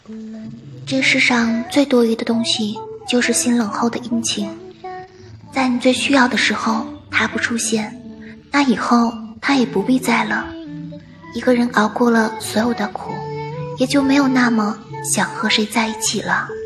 这世上最多余的东西就是心冷后的殷勤，在你最需要的时候他不出现，那以后他也不必在了。一个人熬过了所有的苦，也就没有那么想和谁在一起了。